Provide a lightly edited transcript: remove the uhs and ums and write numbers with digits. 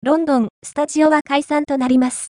ロンドン、スタジオは解散となります。